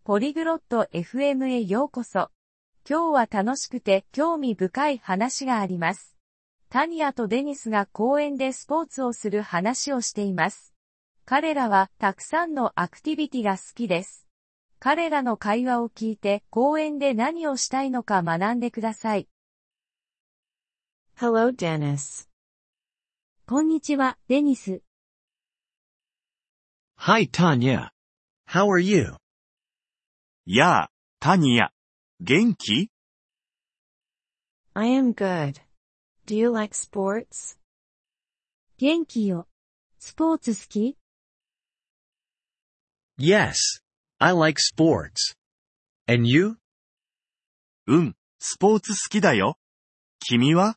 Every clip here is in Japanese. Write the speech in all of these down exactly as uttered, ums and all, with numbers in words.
ポリグロット エフエム へようこそ。今日は楽しくて興味深い話があります。タニアとデニスが公園でスポーツをする話をしています。彼らはたくさんのアクティビティが好きです。彼らの会話を聞いて公園で何をしたいのか学んでください。 Hello, Dennis. こんにちは、デニス。 Hi, Tanya. How are you? やあ、タニア。元気？ I am good. Do you like sports? 元気よ。スポーツ好き？ Yes, I like sports. And you? うん、スポーツ好きだよ。君は？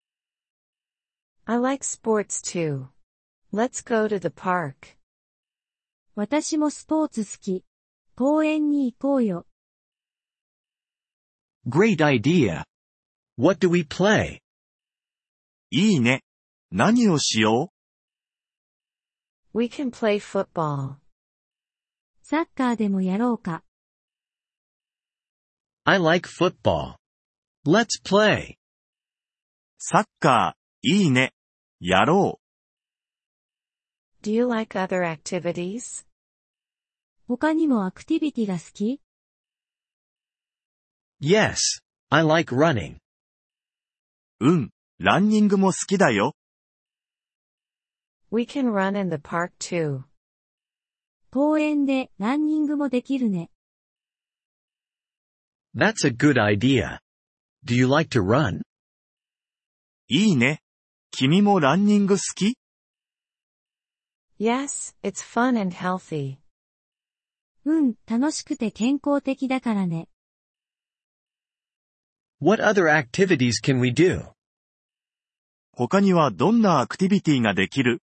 I like sports too. Let's go to the park. 私もスポーツ好き。公園に行こうよ。 Great idea. What do we play? いいね。何をしよ We can play football. サッカーでもやろうか。 I like football. Let's play. う？サッカー、いいね。やろ Do you like other activities? 他にもアクティビティが好き？ Yes, I like running. う？うん、ランニングも好きだよ。 We can run in the park too. 公園でランニングもできるね。 That's a good idea. Do you like to run? いいね。君もランニング好き？ Yes, it's fun and healthy. うん、楽しくて健康的だからね。 What other activities can we do? 他にはどんなアクティビティができる？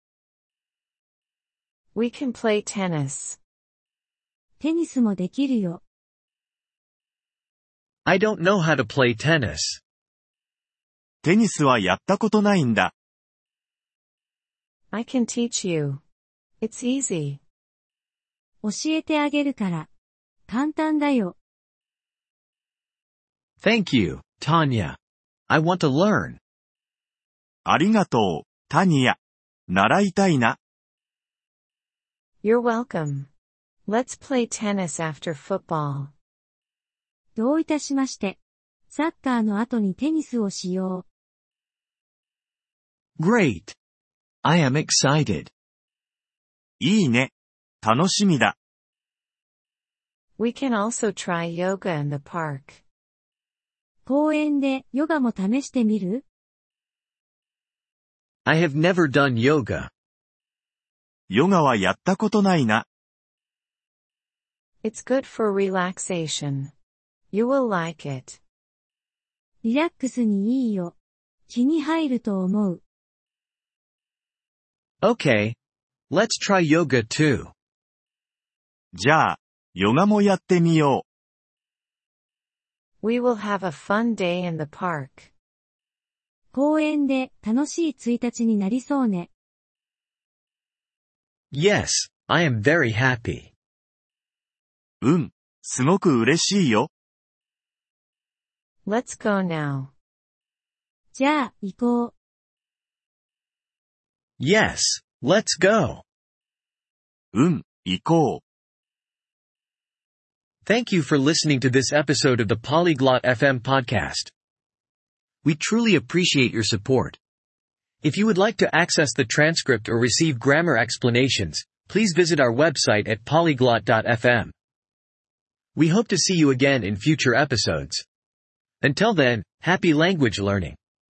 We can play tennis. テニスもできるよ。 I don't know how to play tennis. テニスはやったことないんだ。 I can teach you. It's easy. 教えてあげるから。簡単だよ。 Thank you, Tanya. I want to learn. ありがとう、タニア。習いたいな。 You're welcome. Let's play tennis after football. どういたしまして。サッカーの後にテニスをしよう。 Great. I am excited. いいね。楽しみだ。 We can also try yoga in the park. 公園でヨガも試してみる？ I have never done yoga. ヨガはやったことないな。 It's good for relaxation. You will like it. リラックスにいいよ。気に入ると思う。 Okay. Let's try yoga too. じゃあ、ヨガもやってみよ We will have a fun day in the park. 公園で楽しいいついたちになりそうね。 Yes, I am very happy. う。うん、すごく嬉しいよ。 Let's go now. じゃあ、行こう。 Yes, let's go. うん、行こう。 Thank you for listening to this episode of the Polyglot エフエム podcast. We truly appreciate your support. If you would like to access the transcript or receive grammar explanations, please visit our website at polyglot dot f m. We hope to see you again in future episodes. Until then, happy language learning.